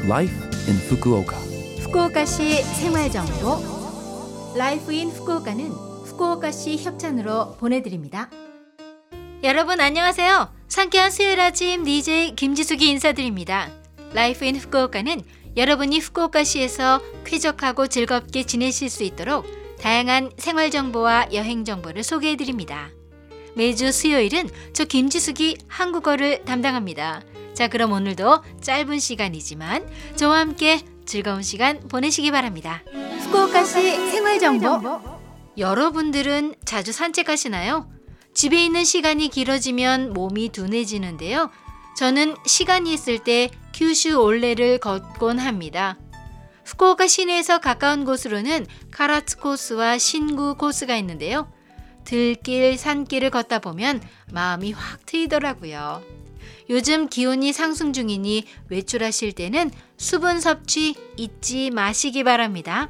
Life in Fukuoka. 후쿠오카시 생활정보 라이프 인 후쿠오카는 후쿠오카시 협찬으로 보내드립니다. 여러분 안녕하세요. 상쾌한 수요일 아침 DJ 김지숙이 인사드립니다. 라이프 인 후쿠오카는 여러분이 후쿠오카시에서 쾌적하고 즐겁게 지내실 수 있도록 다양한 생활정보와 여행정보를 소개해드립니다. 매주 수요일은 저 김지숙이 한국어를 담당합니다. 자, 그럼 오늘도 짧은 시간이지만 저와 함께 즐거운 시간 보내시기 바랍니다. 후쿠오카시 생활정보. 여러분들은 자주 산책하시나요? 집에 있는 시간이 길어지면 몸이 둔해지는데요. 저는 시간이 있을 때 kyushu 올레를 걷곤 합니다. 후쿠오카 시내에서 가까운 곳으로는 카라츠 코스와 신구 코스가 있는데요. 들길, 산길을 걷다 보면 마음이 확 트이더라고요. 요즘 기온이 상승 중이니 외출하실 때는 수분 섭취 잊지 마시기 바랍니다.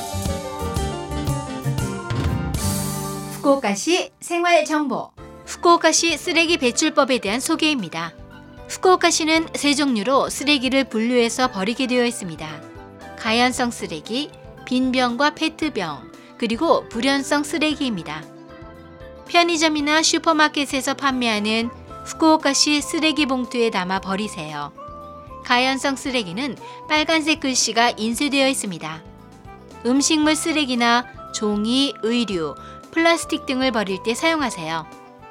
후쿠오카시 생활정보. 후쿠오카시 쓰레기 배출법에 대한 소개입니다. 후쿠오카시는 세 종류로 쓰레기를 분류해서 버리게 되어 있습니다. 가연성 쓰레기, 빈병과 페트병, 그리고 불연성 쓰레기입니다. 편의점이나 슈퍼마켓에서 판매하는 후쿠오카시 쓰레기 봉투에 담아 버리세요. 가연성 쓰레기는 빨간색 글씨가 인쇄되어 있습니다. 음식물 쓰레기나 종이, 의류, 플라스틱 등을 버릴 때 사용하세요.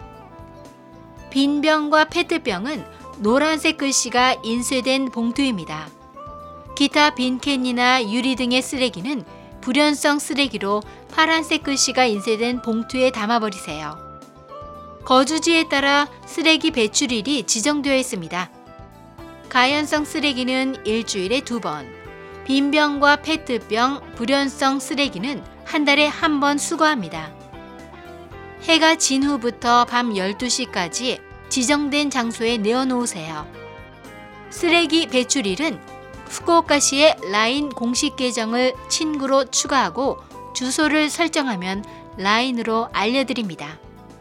빈병과 페트병은 노란색 글씨가 인쇄된 봉투입니다. 기타 빈캔이나 유리 등의 쓰레기는 불연성 쓰레기로 파란색 글씨가 인쇄된 봉투에 담아버리세요. 거주지에 따라 쓰레기 배출일이 지정되어 있습니다. 가연성 쓰레기는 일주일에 2번, 빈병과 페트병, 불연성 쓰레기는 한 달에 1번 수거합니다. 해가 진 후부터 밤 12시까지 지정된 장소에 내어놓으세요. 쓰레기 배출일은 후쿠오카시의 라인 공식 계정을 친구로 추가하고 주소를 설정하면 라인으로 알려드립니다.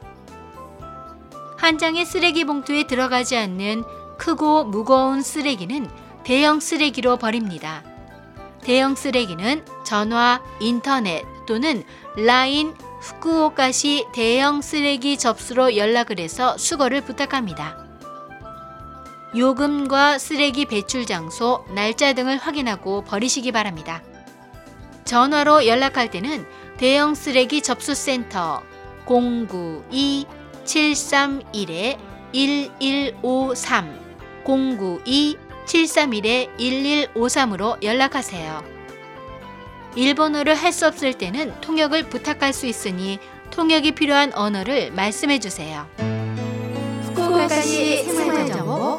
한 장의 쓰레기 봉투에 들어가지 않는 크고 무거운 쓰레기는 대형 쓰레기로 버립니다. 대형 쓰레기는 전화, 인터넷 또는 라인 후쿠오카시 대형 쓰레기 접수로 연락을 해서 수거를 부탁합니다. 요금과 쓰레기 배출 장소, 날짜 등을 확인하고 버리시기 바랍니다. 전화로 연락할 때는 대형 쓰레기 접수센터 092-731-1153 092-731-1153으로 연락하세요. 일본어를 할 수 없을 때는 통역을 부탁할 수 있으니 통역이 필요한 언어를 말씀해 주세요. 후쿠오카시 생활정보.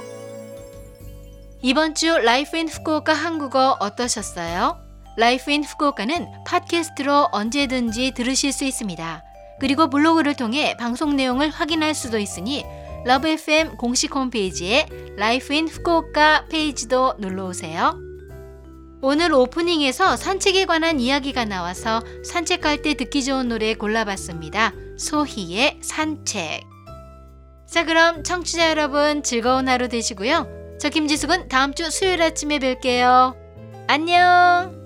이번 주 라이프 인 후쿠오카 한국어 어떠셨어요? 라이프 인 후쿠오카는 팟캐스트로 언제든지 들으실 수 있습니다. 그리고 블로그를 통해 방송 내용을 확인할 수도 있으니 러브 FM 공식 홈페이지에 라이프 인 후쿠오카 페이지도 눌러오세요. 오늘 오프닝에서 산책에 관한 이야기가 나와서 산책할 때 듣기 좋은 노래 골라봤습니다. 소희의 산책. 자, 그럼 청취자 여러분 즐거운 하루 되시고요. 저 김지숙은 다음 주 수요일 아침에 뵐게요. 안녕.